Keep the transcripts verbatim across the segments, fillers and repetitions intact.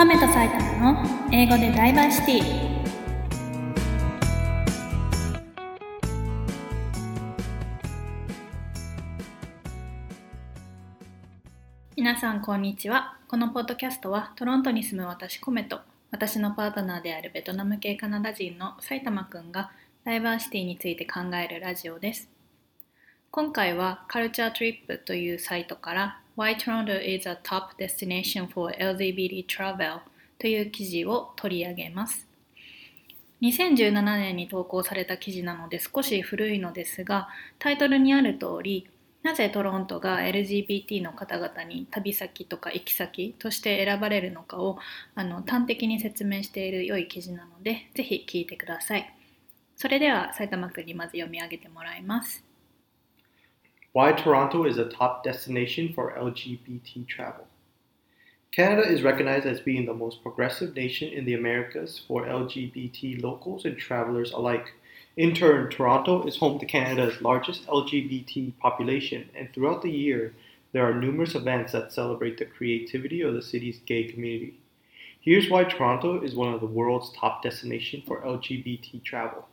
亀と埼玉の英語でダイバーシティ。皆さんこんにちは。このポッドキャストはトロントに住む私コメと私のパートナーであるベトナム系カナダ人の埼玉くんがダイバーシティについて考えるラジオです。今回はカルチャートリップというサイトから Why Toronto is a top destination for エルジービーティー travel という記事を取り上げます。にせんじゅうななねんに投稿された記事なので少し古いのですが、タイトルにある通り、なぜトロントが エルジービーティー の方々に旅先とか行き先として選ばれるのかをあの端的に説明している良い記事なので、ぜひ聞いてください。それでは埼玉くんにまず読み上げてもらいます。 Why Toronto is a top destination for L G B T travel. Canada is recognized as being the most progressive nation in the Americas for L G B T locals and travelers alike. In turn, Toronto is home to Canada's largest L G B T population, and throughout the year, there are numerous events that celebrate the creativity of the city's gay community. Here's why Toronto is one of the world's top destinations for L G B T travel.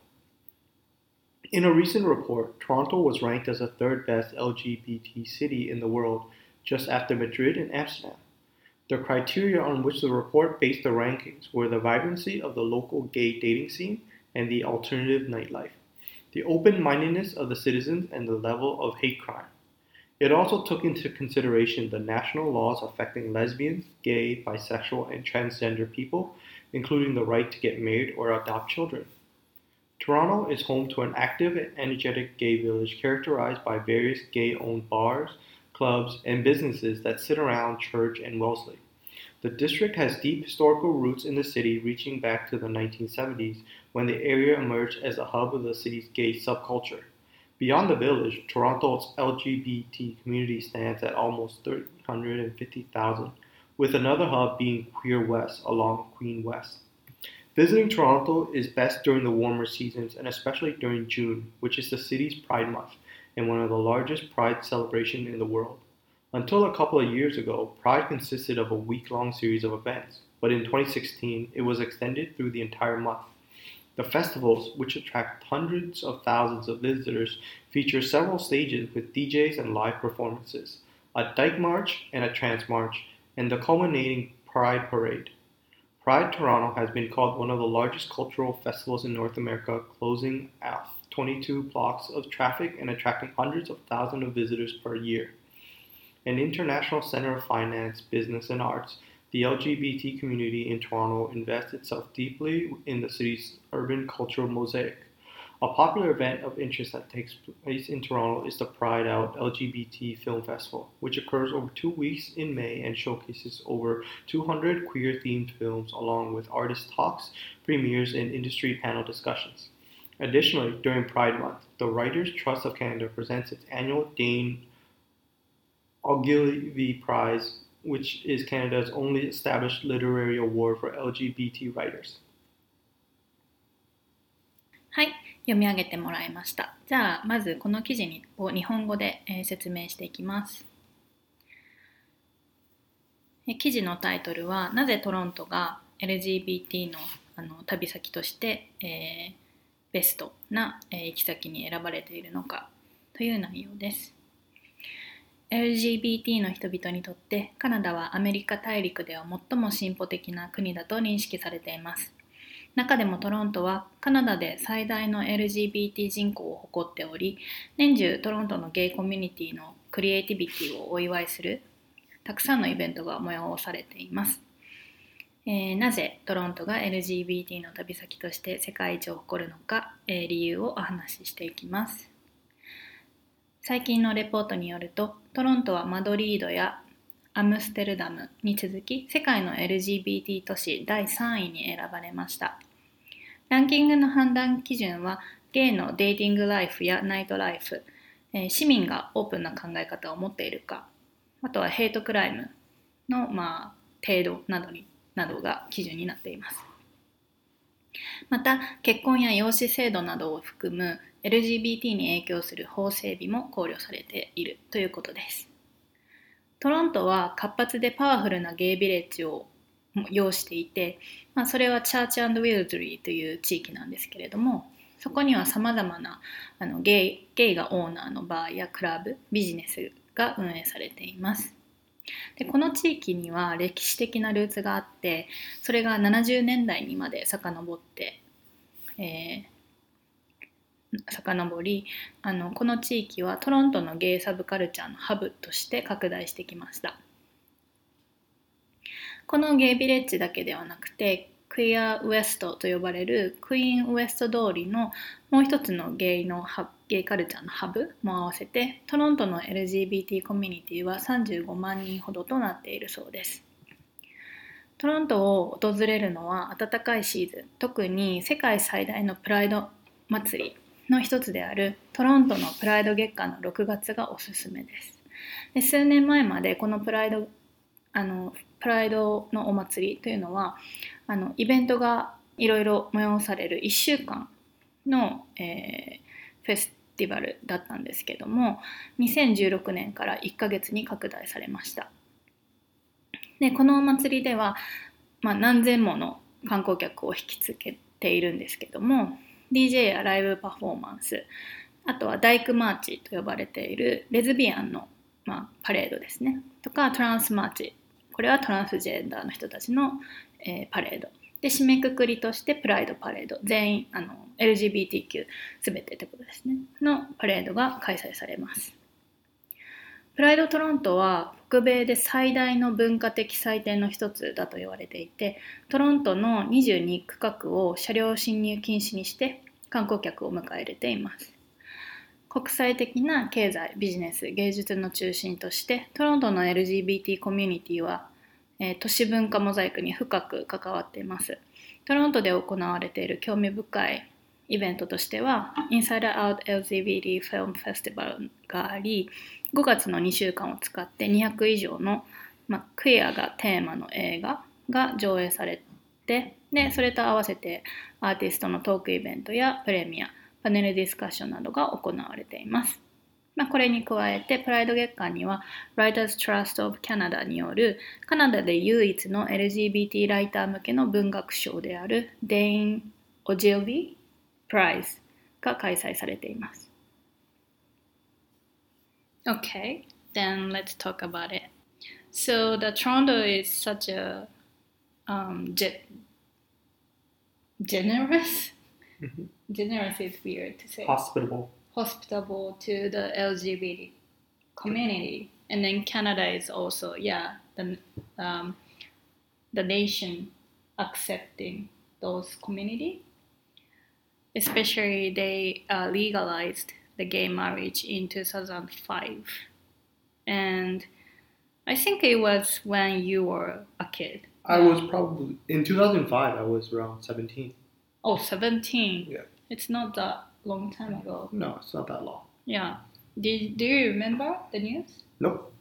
In a recent report, Toronto was ranked as the third best L G B T city in the world, just after Madrid and Amsterdam. The criteria on which the report based the rankings were the vibrancy of the local gay dating scene and the alternative nightlife, the open-mindedness of the citizens, and the level of hate crime. It also took into consideration the national laws affecting lesbians, gay, bisexual, and transgender people, including the right to get married or adopt children. Toronto is home to an active and energetic gay village characterized by various gay-owned bars, clubs, and businesses that sit around Church and Wellesley. The district has deep historical roots in the city reaching back to the nineteen seventies when the area emerged as a hub of the city's gay subculture. Beyond the village, Toronto's L G B T community stands at almost three hundred fifty thousand, with another hub being Queer West along Queen West. Visiting Toronto is best during the warmer seasons and especially during June, which is the city's Pride Month and one of the largest Pride celebrations in the world. Until a couple of years ago, Pride consisted of a week-long series of events, but in twenty sixteen, it was extended through the entire month. The festivals, which attract hundreds of thousands of visitors, feature several stages with D Js and live performances, a Dyke March and a Trance March, and the culminating Pride Parade. Pride Toronto has been called one of the largest cultural festivals in North America, closing out twenty-two blocks of traffic and attracting hundreds of thousands of visitors per year. An international center of finance, business, and arts, the L G B T community in Toronto invests itself deeply in the city's urban cultural mosaic. A popular event of interest that takes place in Toronto is the Pride Out L G B T Film Festival, which occurs over two weeks in May and showcases over two hundred queer-themed films along with artist talks, premieres, and industry panel discussions. Additionally, during Pride Month, the Writers' Trust of Canada presents its annual Dane Ogilvy Prize, which is Canada's only established literary award for L G B T writers. はい、読み上げてもらいました。じゃあまずこの記事を日本語で、えー、説明していきます。え記事のタイトルはなぜトロントが エルジービーティー の, あの旅先として、えー、ベストな、えー、行き先に選ばれているのかという内容です。エルジービーティー の人々にとってカナダはアメリカ大陸では最も進歩的な国だと認識されています。中でもトロントはカナダで最大の エルジービーティー 人口を誇っており、年中トロントのゲイコミュニティのクリエイティビティをお祝いするたくさんのイベントが催されています。えー、なぜトロントが エルジービーティー の旅先として世界一を誇るのか、えー、理由をお話ししていきます。最近のレポートによると、トロントはマドリードやアムステルダムに続き世界の エルジービーティー 都市だいさんいに選ばれました。ランキングの判断基準はゲイのデーティングライフやナイトライフ、えー、市民がオープンな考え方を持っているか、あとはヘイトクライムの、まあ、程度などになどが基準になっています。また結婚や養子制度などを含む エルジービーティー に影響する法整備も考慮されているということです。トロントは活発でパワフルなゲイビレッジを要していて、まあ、それはチャーチ&ウィルズリーという地域なんですけれども、そこにはさまざまなあのゲイ、ゲイがオーナーのバーやクラブ、ビジネスが運営されています。でこの地域には歴史的なルーツがあって、それがななじゅうねんだいにまで遡って、えー、遡りあのこの地域はトロントのゲイサブカルチャーのハブとして拡大してきました。このゲイビレッジだけではなくて、クイアウエストと呼ばれるクイーンウエスト通りのもう一つのゲイのゲイカルチャーのハブも合わせて、トロントの エルジービーティー コミュニティはさんじゅうごまんにんほどとなっているそうです。トロントを訪れるのは暖かいシーズン、特に世界最大のプライド祭りの一つであるトロントのプライド月間のろくがつがおすすめです。で数年前までこのプライドあのプライドのお祭りというのはあのイベントがいろいろ催されるいっしゅうかんの、えー、フェスティバルだったんですけども、にせんじゅうろくねんからいっかげつに拡大されました。でこのお祭りでは、まあ、何千もの観光客を引きつけているんですけども、 ディージェー やライブパフォーマンス、あとはダイクマーチと呼ばれているレズビアンの、まあ、パレードですね、とかトランスマーチ、これはトランスジェンダーの人たちの、えー、パレードで、締めくくりとしてプライドパレード、全員あの エルジービーティーキュー すべてってことですねのパレードが開催されます。プライドトロントは北米で最大の文化的祭典の一つだと言われていて、トロントのにじゅうにくかくを車両進入禁止にして観光客を迎え入れています。国際的な経済、ビジネス、芸術の中心としてトロントの エルジービーティー コミュニティは、えー、都市文化モザイクに深く関わっています。トロントで行われている興味深いイベントとしては Inside Out エルジービーティー Film Festival があり、ごがつのにしゅうかんを使ってにひゃくいじょうの、まあ、クイアがテーマの映画が上映されて、でそれと合わせてアーティストのトークイベントやプレミア、パネルディスカッションなどが行われています。まあ、これに加えてプライド月間には Writers Trust of Canada によるカナダで唯一の エルジービーティー ライター向けの文学賞であるデイン・オジェルビー・プライズが開催されています。Okay, then let's talk about it. So the Toronto is such a um, ge- generous. Mm-hmm. Generous is weird to say. Hospitable. Hospitable to the L G B T community, and then Canada is also yeah the um, the nation accepting those community. Especially they uh, legalized the gay marriage in two thousand five, and I think it was when you were a kid. I was probably in two thousand five. I was around seventeen. Oh, seventeen. Yeah. It's not that long time ago. No, it's not that long. Yeah. Did do you remember the news? Nope.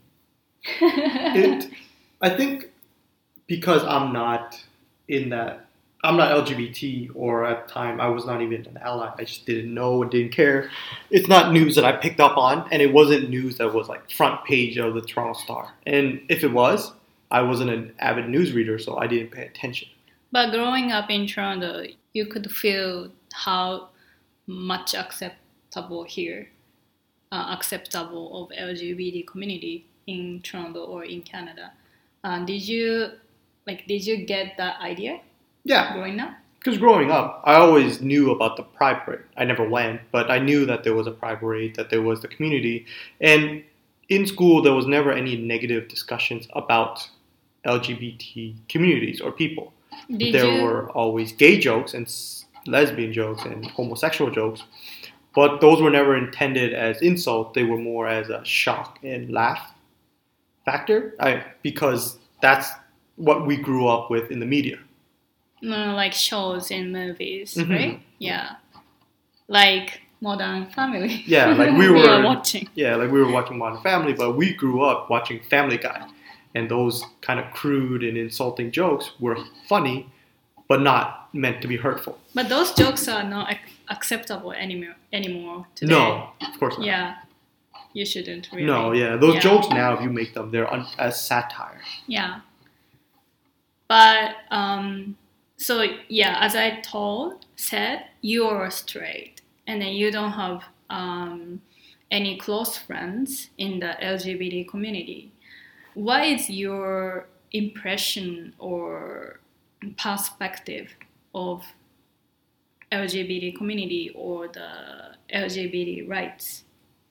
it, I think because I'm not in that. I'm not L G B T, or at the time I was not even an ally. I just didn't know and didn't care. It's not news that I picked up on, and it wasn't news that was like front page of the Toronto Star. And if it was, I wasn't an avid news reader, so I didn't pay attention. But growing up in Toronto, you could feel how much acceptable here, uh, acceptable of L G B T community in Toronto or in Canada. Uh, did you like? Did you get that idea? Yeah. Growing up? Because growing up, I always knew about the Pride Parade. I never went, but I knew that there was a Pride Parade, that there was the community. And in school, there was never any negative discussions about L G B T communities or people. Did there you... were always gay jokes and lesbian jokes and homosexual jokes, but those were never intended as insult. They were more as a shock and laugh factor, I, because that's what we grew up with in the media. Uh, like shows and movies, mm-hmm. right? Yeah. Like Modern Family. Yeah, like we were, we were watching. Yeah, like we were watching Modern Family, but we grew up watching Family Guy. And those kind of crude and insulting jokes were funny, but not meant to be hurtful. But those jokes are not ac- acceptable anymore, anymore today. No, of course not. Yeah. You shouldn't really. No, yeah. Those yeah. jokes now, if you make them, they're un- as satire. Yeah. But um, so yeah, as I told said, you are straight, and then you don't have um, any close friends in the L G B T community. What is your impression or perspective of L G B T community or the L G B T rights?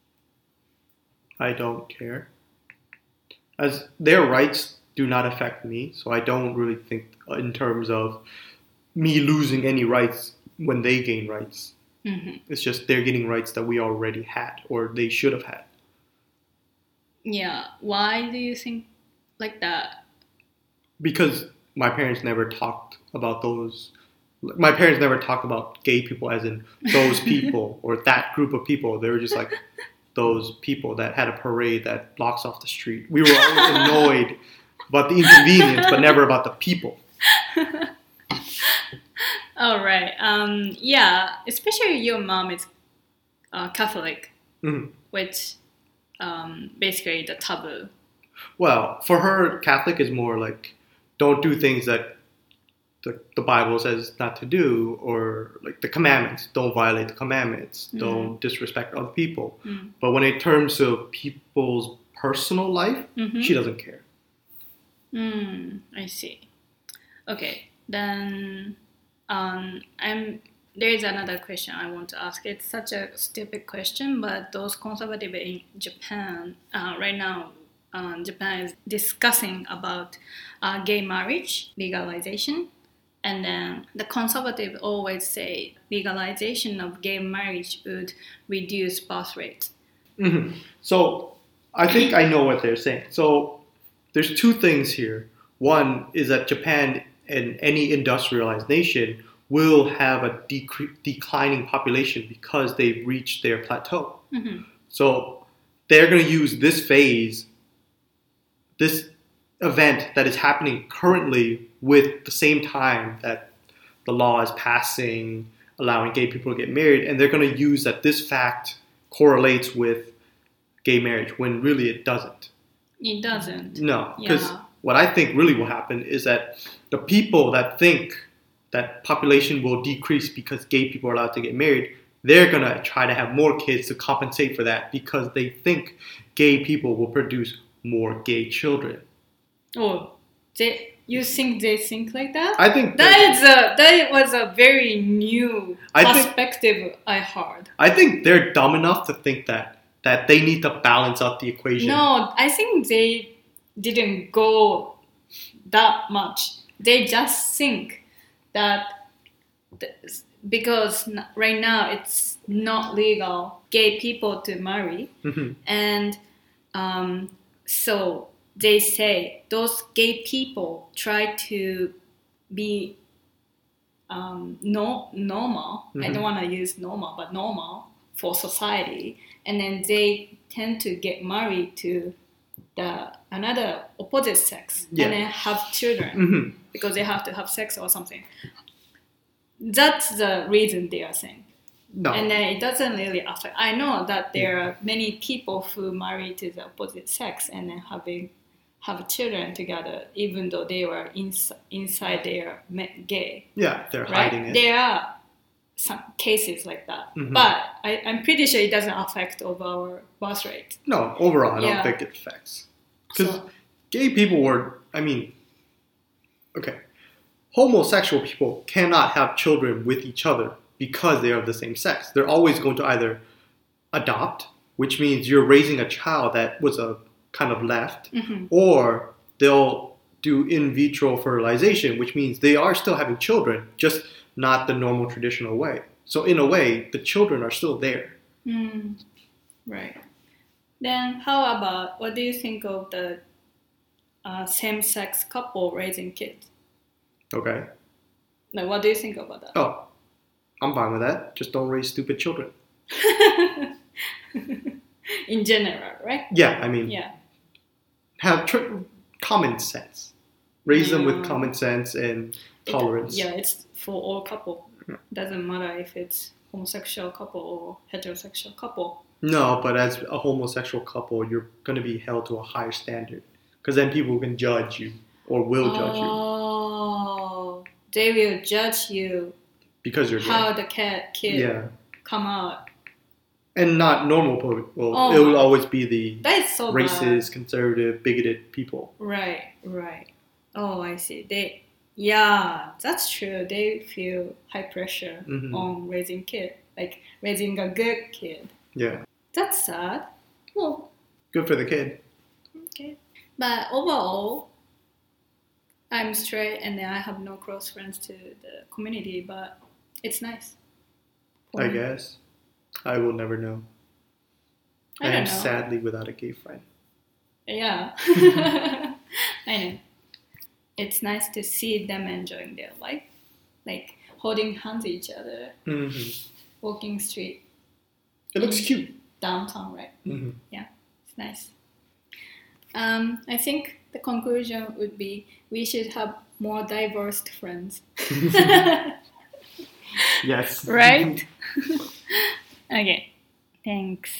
I don't care. As their rights do not affect me, so I don't really think in terms of me losing any rights when they gain rights. Mm-hmm. It's just they're getting rights that we already had or they should have had. Yeah. Why do you think like that? Because my parents never talked about those. My parents never talked about gay people as in those people or that group of people. They were just like those people that had a parade that blocks off the street. We were always annoyed about the inconvenience, but never about the people. All right. Um, yeah, especially your mom is uh, Catholic, Mm-hmm. which um, basically the taboo. Well, for her, Catholic is more like don't do things that the, the Bible says not to do, or like the commandments. Don't violate the commandments. Mm. Don't disrespect other people. Mm. But when it comes to people's personal life, Mm-hmm. she doesn't care. Mm, I see. Okay, then um, I'm. There is another question I want to ask. It's such a stupid question, but those conservative in Japan uh, right now, uh, Japan is discussing about uh, gay marriage legalization, and then the conservative always say legalization of gay marriage would reduce birth rate. Mm-hmm. So I think I know what they're saying. So there's two things here. One is that Japan and any industrialized nation will have a decre- declining population because they've reached their plateau. Mm-hmm. So they're going to use this phase, this event that is happening currently with the same time that the law is passing, allowing gay people to get married, and they're going to use that this fact correlates with gay marriage when really it doesn't. It doesn't. No, because Yeah. what I think really will happen is that the people that think that population will decrease because gay people are allowed to get married, they're going to try to have more kids to compensate for that because they think gay people will produce more gay children. Oh, they, you think they think like that? I think That is a that was a very new I think- perspective I heard. I think they're dumb enough to think that that they need to balance out the equation. No, I think they didn't go that much. They just think that th- because n- right now it's not legal gay people to marry, Mhm. and um, so they say those gay people try to be um, no normal. I Mhm. don't want to use normal, but normal for society, and then they tend to get married to the another opposite sex Yeah. and then have children Mhm. because they have to have sex or something. That's the reason they are saying. No. And then it doesn't really affect. I know that there are many people who marry to the opposite sex and then having have children together, even though they were ins- inside their me- gay. yeah, they're Right? hiding it. There are some cases like that, Mhm. but I, I'm pretty sure it doesn't affect of our birth rate. No, overall, I don't Yeah. think it affects. Because So, gay people were, I mean, okay, homosexual people cannot have children with each other because they're of the same sex. They're always going to either adopt, which means you're raising a child that was a kind of left, mhm. or they'll do in vitro fertilization, which means they are still having children, just not the normal traditional way. So in a way, the children are still there. Mm, right. Then how about, what do you think of the uh, same-sex couple raising kids? Okay? Like, what do you think about that? Oh, I'm fine with that. Just don't raise stupid children. In general, right? Yeah, I mean, Yeah. have tr- common sense. Raise them with Yeah. common sense and It- tolerance. yeah, it's for all couple. Yeah. Doesn't matter if it's homosexual couple or heterosexual couple. No, but as a homosexual couple, you're going to be held to a higher standard. Because then people can judge you or will judge you. Oh, they will judge you because you're how gay. the kid, kid Yeah. come out. And not normal people. Well, Oh it will my- always be the That is so racist, conservative, bigoted people. bad. Right, right. Oh, I see. They, yeah, that's true. They feel high pressure Mhm. on raising kid, like raising a good kid. Yeah. That's sad. Well, Good for the kid. okay. But overall, I'm straight and I have no close friends to the community, but it's nice. for I me. guess. I will never know. I I don't am know. sadly without a gay friend. Yeah. I know. It's nice to see them enjoying their life. Like holding hands each other, Mm-hmm. walking street It looks Mm. cute. downtown, right? Mm-hmm. It's nice. Um, I think the conclusion would be we should have more diverse friends. Yes. Right? Okay. Thanks.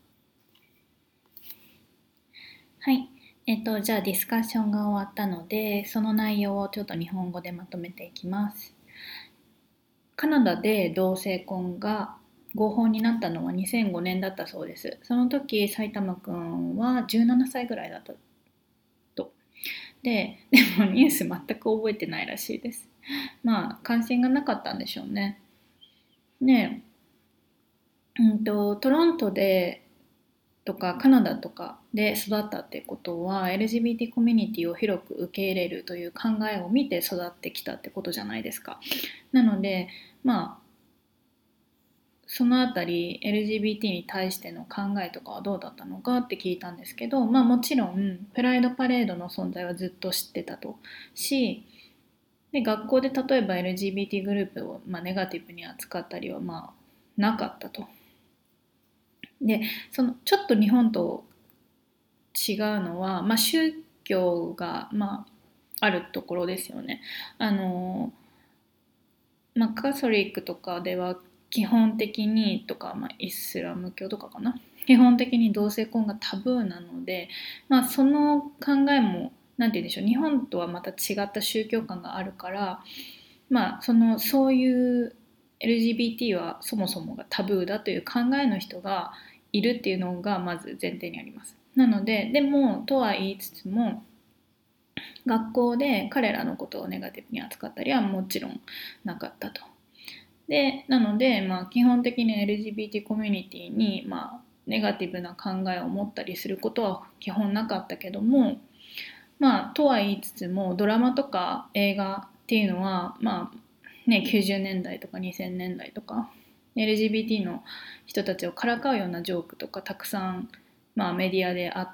はい。えっと、じゃあディスカッションが終わったので、その内容をちょっと日本語でまとめていきます。カナダで同性婚が合法になったのはにせんごねんだったそうです。その時、埼玉くんはじゅうななさいぐらいだったと。で、でもニュース全く覚えてないらしいです。まあ、関心がなかったんでしょうね。ねえ、うんと、トロントでとかカナダとかで育ったってことは エルジービーティー コミュニティを広く受け入れるという考えを見て育ってきたってことじゃないですか。なのでまあそのあたり エルジービーティー に対しての考えとかはどうだったのかって聞いたんですけど、まあもちろんプライドパレードの存在はずっと知ってたとし、で学校で例えば エルジービーティー グループを、まあ、ネガティブに扱ったりはまあなかったと。でそのちょっと日本と違うのは、まあ、宗教が、まあ、あるところですよね。あの、まあ、カソリックとかでは基本的にとか、まあ、イスラム教とかかな、基本的に同性婚がタブーなので、まあ、その考えもなんて言うんでしょう、日本とはまた違った宗教観があるから、まあ、そのそういう エルジービーティー はそもそもがタブーだという考えの人がいるっていうのがまず前提にあります。なので、でもとは言いつつも学校で彼らのことをネガティブに扱ったりはもちろんなかったと。で、なので、まあ、基本的に エルジービーティー コミュニティに、まあ、ネガティブな考えを持ったりすることは基本なかったけども、まあ、とは言いつつもドラマとか映画っていうのは、まあね、きゅうじゅうねんだいとかにせんねんだいとか エルジービーティー の人たちをからかうようなジョークとかたくさん、まあ、メディアであって、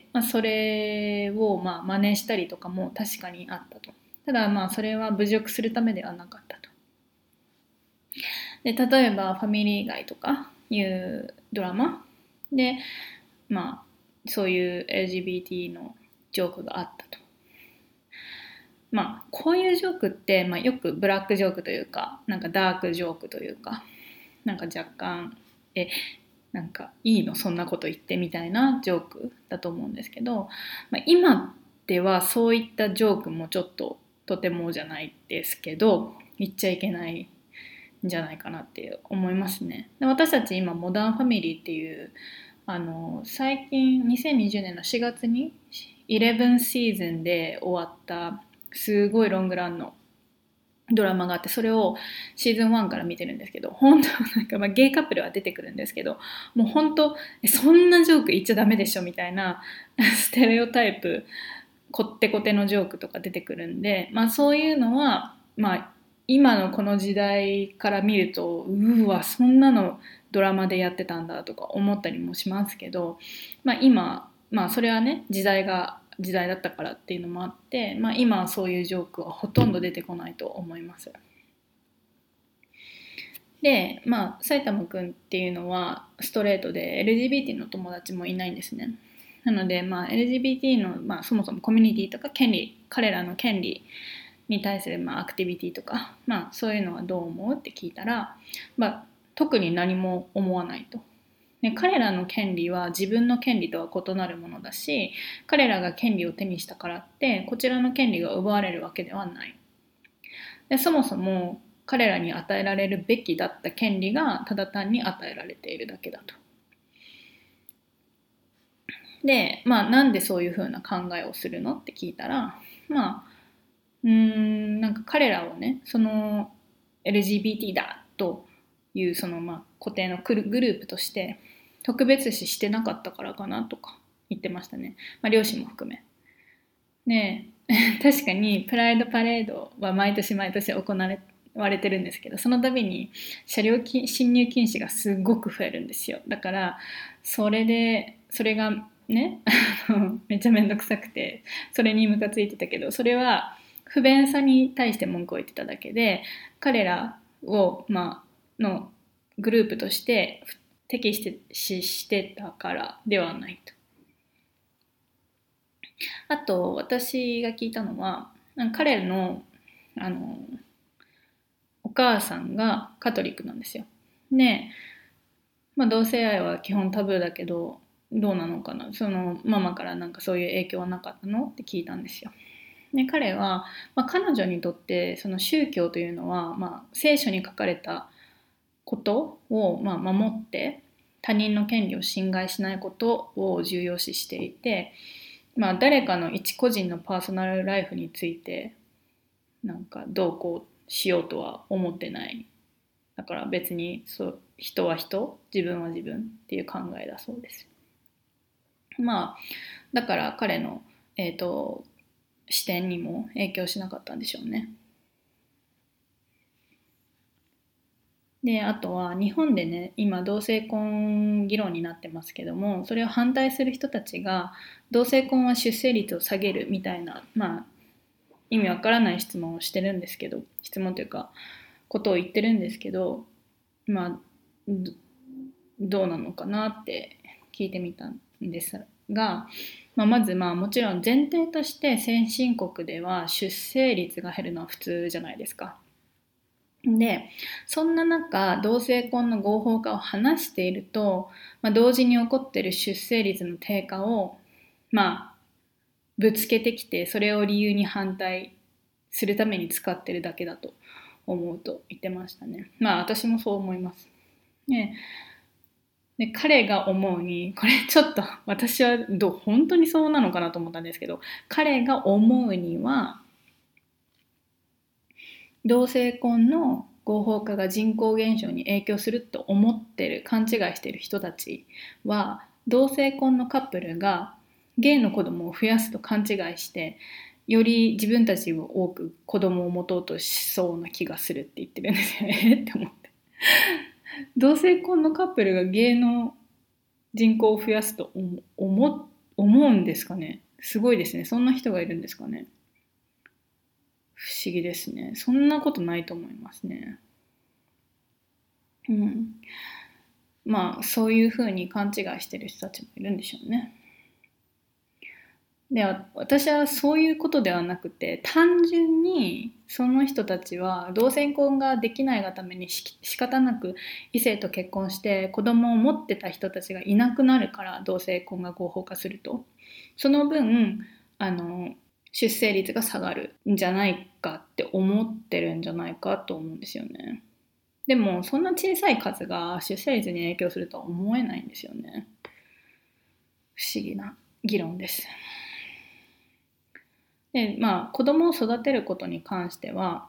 まあ、それをまあ真似したりとかも確かにあったと。ただまあそれは侮辱するためではなかったと。で、例えばファミリー街とかいうドラマで、まあ、そういう エルジービーティー のジョークがあったと。まあこういうジョークって、まあ、よくブラックジョークというか、なんかダークジョークというか、なんか若干えなんかいいのそんなこと言ってみたいなジョークだと思うんですけど、まあ、今ではそういったジョークもちょっととてもじゃないですけど言っちゃいけないんじゃないかなって思いますね。で、私たち今モダンファミリーっていうあの最近にせんにじゅうねんのしがつにじゅういちシーズンで終わったすごいロングランのドラマがあって、それをシーズンワンから見てるんですけど、本当なんか、まあ、ゲイカップルは出てくるんですけど、もう本当そんなジョーク言っちゃダメでしょみたいなステレオタイプこってこてのジョークとか出てくるんで、まあそういうのはまあ今のこの時代から見るとうわそんなのドラマでやってたんだとか思ったりもしますけど、まあ今まあそれはね時代が時代だったからっていうのもあって、まあ、今はそういうジョークはほとんど出てこないと思います。で、まあ埼玉くんっていうのはストレートで エルジービーティー の友達もいないんですね。なので、まあ、エルジービーティー の、まあ、そもそもコミュニティとか権利、彼らの権利に対する、まあ、アクティビティとか、まあ、そういうのはどう思うって聞いたら、まあ、特に何も思わないと。で、彼らの権利は自分の権利とは異なるものだし、彼らが権利を手にしたからってこちらの権利が奪われるわけではない。 でそもそも彼らに与えられるべきだった権利がただ単に与えられているだけだと。で、まあなんでそういうふうな考えをするのって聞いたら、まあうーんなんか彼らをね、その エルジービーティー だというそのまあ固定のグループとして特別視してなかったからかなとか言ってましたね。まあ両親も含め。ねえ確かにプライドパレードは毎年毎年行われてるんですけど、その度に車両進入禁止がすごく増えるんですよ。だからそれでそれがねめっちゃめんどくさくてそれにムカついてたけど、それは不便さに対して文句を言ってただけで、彼らを、まあのグループとして敵視してたからではないと。あと私が聞いたのは、彼のあのお母さんがカトリックなんですよ。で、まあ、同性愛は基本タブーだけどどうなのかな、そのママからなんかそういう影響はなかったのって聞いたんですよ。で彼は、まあ、彼女にとってその宗教というのは、まあ、聖書に書かれたことを、まあ、守って他人の権利を侵害しないことを重要視していて、まあ、誰かの一個人のパーソナルライフについてなんかどうこうしようとは思ってない。だから別にそう人は人、自分は自分っていう考えだそうです。まあだから彼の、えーと、視点にも影響しなかったんでしょうね。であとは日本でね今同性婚議論になってますけども、それを反対する人たちが同性婚は出生率を下げるみたいな、まあ意味わからない質問をしてるんですけど、質問というかことを言ってるんですけど、まあどうなのかなって聞いてみたんですが、まあ、まずまあもちろん前提として先進国では出生率が減るのは普通じゃないですか。でそんな中同性婚の合法化を話していると、まあ、同時に起こっている出生率の低下をまあぶつけてきて、それを理由に反対するために使ってるだけだと思うと言ってましたね。まあ私もそう思います。ね、で彼が思うに、これちょっと私はどう本当にそうなのかなと思ったんですけど、彼が思うには同性婚の合法化が人口減少に影響すると思ってる、勘違いしてる人たちは同性婚のカップルがゲイの子供を増やすと勘違いしてより自分たちを多く子供を持とうとしそうな気がするって言ってるんですよねって思って、同性婚のカップルがゲイの人口を増やすと思思うんですかね。すごいですね。そんな人がいるんですかね。不思議ですね。そんなことないと思いますね。うん。まあそういうふうに勘違いしてる人たちもいるんでしょうね。で私はそういうことではなくて、単純にその人たちは同性婚ができないがためにし仕方なく異性と結婚して子供を持ってた人たちがいなくなるから、同性婚が合法化するとその分あの出生率が下がるんじゃないかって思ってるんじゃないかと思うんですよね。でもそんな小さい数が出生率に影響するとは思えないんですよね。不思議な議論です。でまあ子供を育てることに関しては、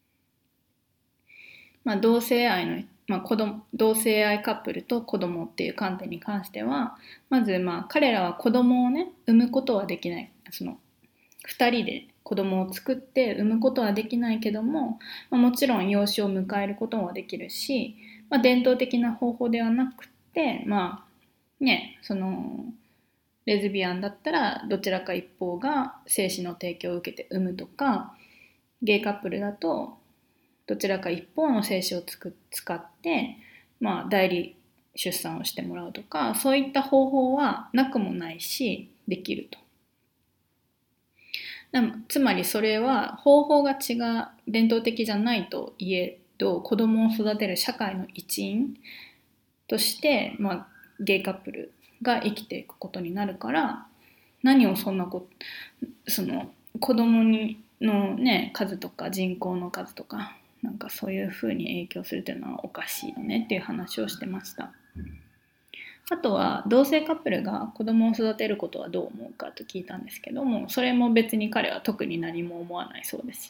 まあ、同性愛の、まあ、子供同性愛カップルと子供っていう観点に関しては、まずまあ彼らは子供をね産むことはできない、そのふたりで子供を作って産むことはできないけども、まあ、もちろん養子を迎えることもできるし、まあ、伝統的な方法ではなくて、まあね、そのレズビアンだったらどちらか一方が精子の提供を受けて産むとか、ゲイカップルだとどちらか一方の精子をつく使って、まあ、代理出産をしてもらうとか、そういった方法はなくもないしできると。つまりそれは方法が違う、伝統的じゃないといえど子供を育てる社会の一員として、まあ、ゲイカップルが生きていくことになるから、何をそんなこその子供にの、ね、数とか人口の数とかなんかそういう風に影響するというのはおかしいよねっていう話をしてました。あとは同性カップルが子供を育てることはどう思うかと聞いたんですけども、それも別に彼は特に何も思わないそうです。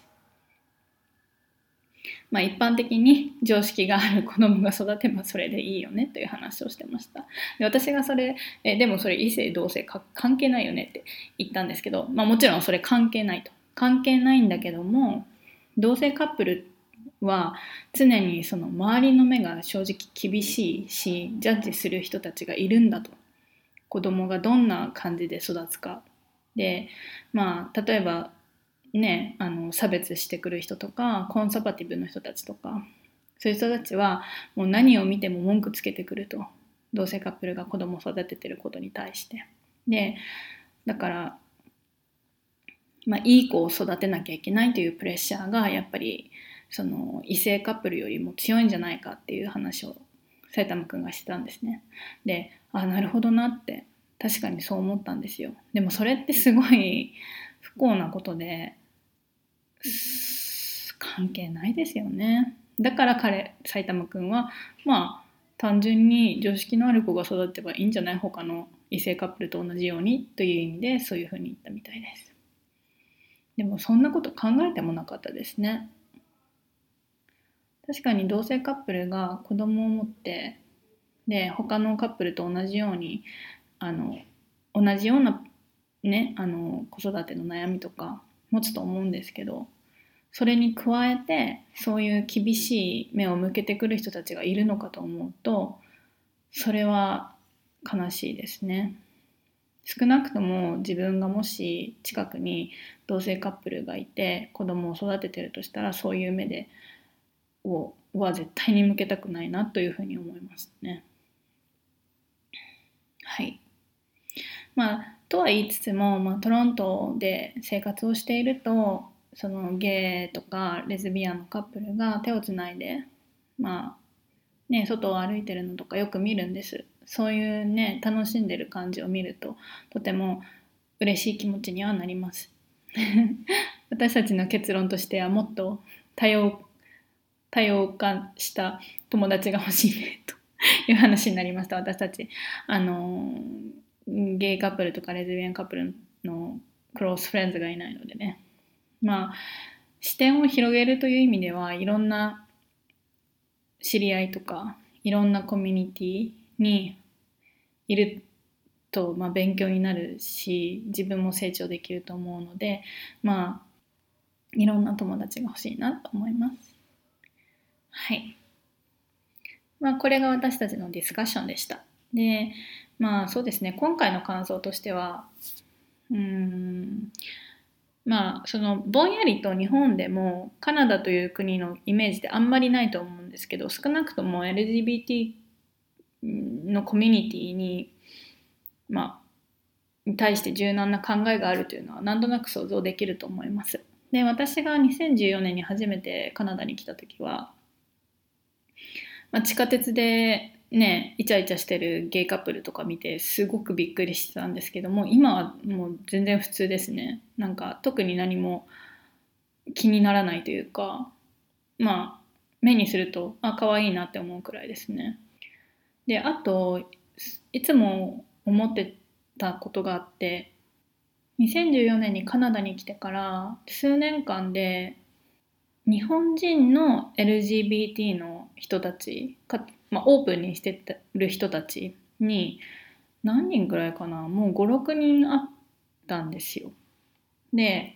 まあ、一般的に常識がある子供が育てばそれでいいよねという話をしてました。で、私がそれえでもそれ異性同性か関係ないよねって言ったんですけど、まあ、もちろんそれ関係ないと関係ないんだけども、同性カップルは常にその周りの目が正直厳しいし、ジャッジする人たちがいるんだと。子供がどんな感じで育つかで、まあ例えばね、あの差別してくる人とかコンサバティブの人たちとか、そういう人たちはもう何を見ても文句つけてくると、同性カップルが子供を育ててることに対して。でだから、まあ、いい子を育てなきゃいけないというプレッシャーがやっぱりその異性カップルよりも強いんじゃないかっていう話を埼玉くんがしてたんですね。で、あ、なるほどなって、確かにそう思ったんですよ。でもそれってすごい不幸なことで関係ないですよね。だから彼埼玉くんはまあ単純に常識のある子が育てばいいんじゃない、他の異性カップルと同じようにという意味でそういうふうに言ったみたいです。でもそんなこと考えてもなかったですね。確かに同性カップルが子供を持ってで他のカップルと同じようにあの同じようなね、あの子育ての悩みとか持つと思うんですけど、それに加えてそういう厳しい目を向けてくる人たちがいるのかと思うと、それは悲しいですね。少なくとも自分がもし近くに同性カップルがいて子供を育ててるとしたら、そういう目でをは絶対に向けたくないなというふうに思いますね。はい。まあとは言いつつも、まあ、トロントで生活をしていると、そのゲイとかレズビアンのカップルが手をつないで、まあね、外を歩いてるのとかよく見るんです。そういうね、楽しんでる感じを見るととても嬉しい気持ちにはなります私たちの結論としては、もっと多様多様化した友達が欲しいねという話になりました。私たちあのゲイカップルとかレズビアンカップルのクロースフレンズがいないのでね、まあ視点を広げるという意味ではいろんな知り合いとかいろんなコミュニティにいると、まあ、勉強になるし自分も成長できると思うので、まあいろんな友達が欲しいなと思います。はい。まあこれが私たちのディスカッションでした。で、まあそうですね、今回の感想としては、うーんまあそのぼんやりと日本でもカナダという国のイメージであんまりないと思うんですけど、少なくとも エルジービーティー のコミュニティにまあに対して柔軟な考えがあるというのはなんとなく想像できると思います。で、私がにせんじゅうよねんに初めてカナダに来た時は、まあ、地下鉄でねイチャイチャしてるゲイカップルとか見てすごくびっくりしてたんですけども、今はもう全然普通ですね。なんか特に何も気にならないというか、まあ目にするとあ可愛いなって思うくらいですね。で、あといつも思ってたことがあって、にせんじゅうよねんにカナダに来てから数年間で日本人の エルジービーティー の人たちか、まあ、オープンにしてる人たちに何人くらいかな、もうご、ろくにんあったんですよ。で、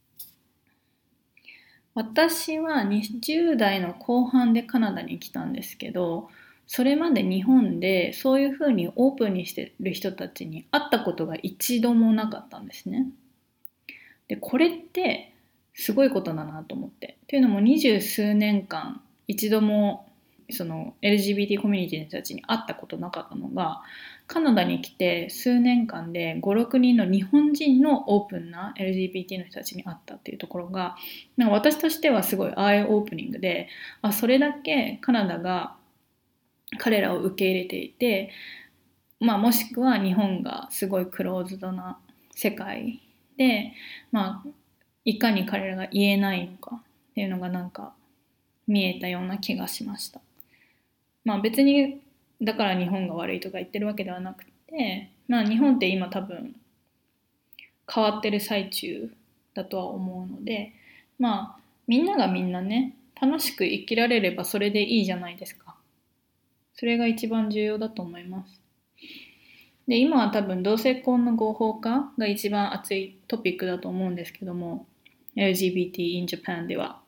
私はにじゅう代の後半でカナダに来たんですけど、それまで日本でそういうふうにオープンにしてる人たちに会ったことが一度もなかったんですね。で、これってすごいことだなと思って。というのも二十数年間一度もその エルジービーティー コミュニティの人たちに会ったことなかったのが、カナダに来て数年間でご、ろくにんの日本人のオープンな エルジービーティー の人たちに会ったっていうところが、なんか私としてはすごいアイオープニングで、あ、それだけカナダが彼らを受け入れていて、まあ、もしくは日本がすごいクローズドな世界で、まあいかに彼らが言えないのかっていうのがなんか見えたような気がしました。まあ別にだから日本が悪いとか言ってるわけではなくて、まあ日本って今多分変わってる最中だとは思うので、まあみんながみんなね楽しく生きられればそれでいいじゃないですか。それが一番重要だと思います。で、今は多分同性婚の合法化が一番熱いトピックだと思うんですけども、 エルジービーティー in Japan では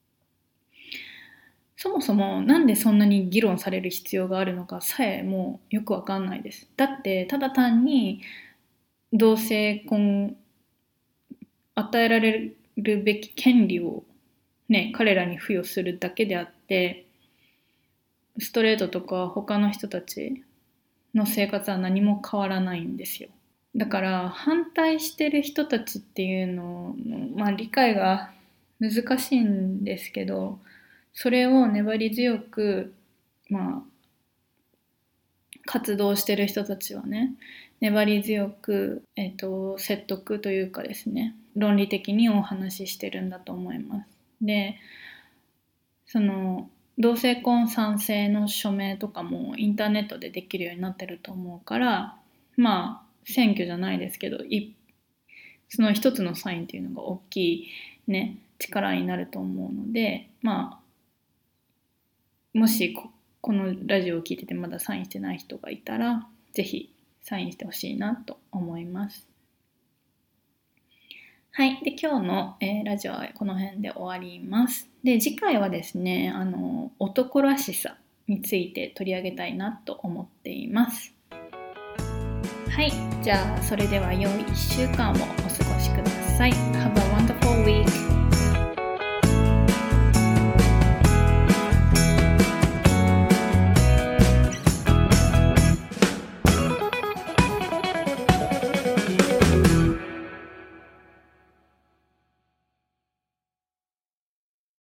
そもそもなんでそんなに議論される必要があるのかさえもうよくわかんないです。だってただ単に同性婚与えられるべき権利をね彼らに付与するだけであって、ストレートとか他の人たちの生活は何も変わらないんですよ。だから反対してる人たちっていうのの、まあ、理解が難しいんですけど、それを粘り強く、まあ、活動してる人たちはね粘り強く、えっと、説得というかですね論理的にお話ししてるんだと思います。で、その同性婚賛成の署名とかもインターネットでできるようになってると思うから、まあ選挙じゃないですけどいその一つのサインっていうのが大きいね力になると思うので、まあもし こ, このラジオを聞いててまだサインしてない人がいたらぜひサインしてほしいなと思います。はい。で、今日の、えー、ラジオはこの辺で終わります。で、次回はですね、あの、男らしさについて取り上げたいなと思っています。はい。じゃあ、それでは良いいっしゅうかんをお過ごしください。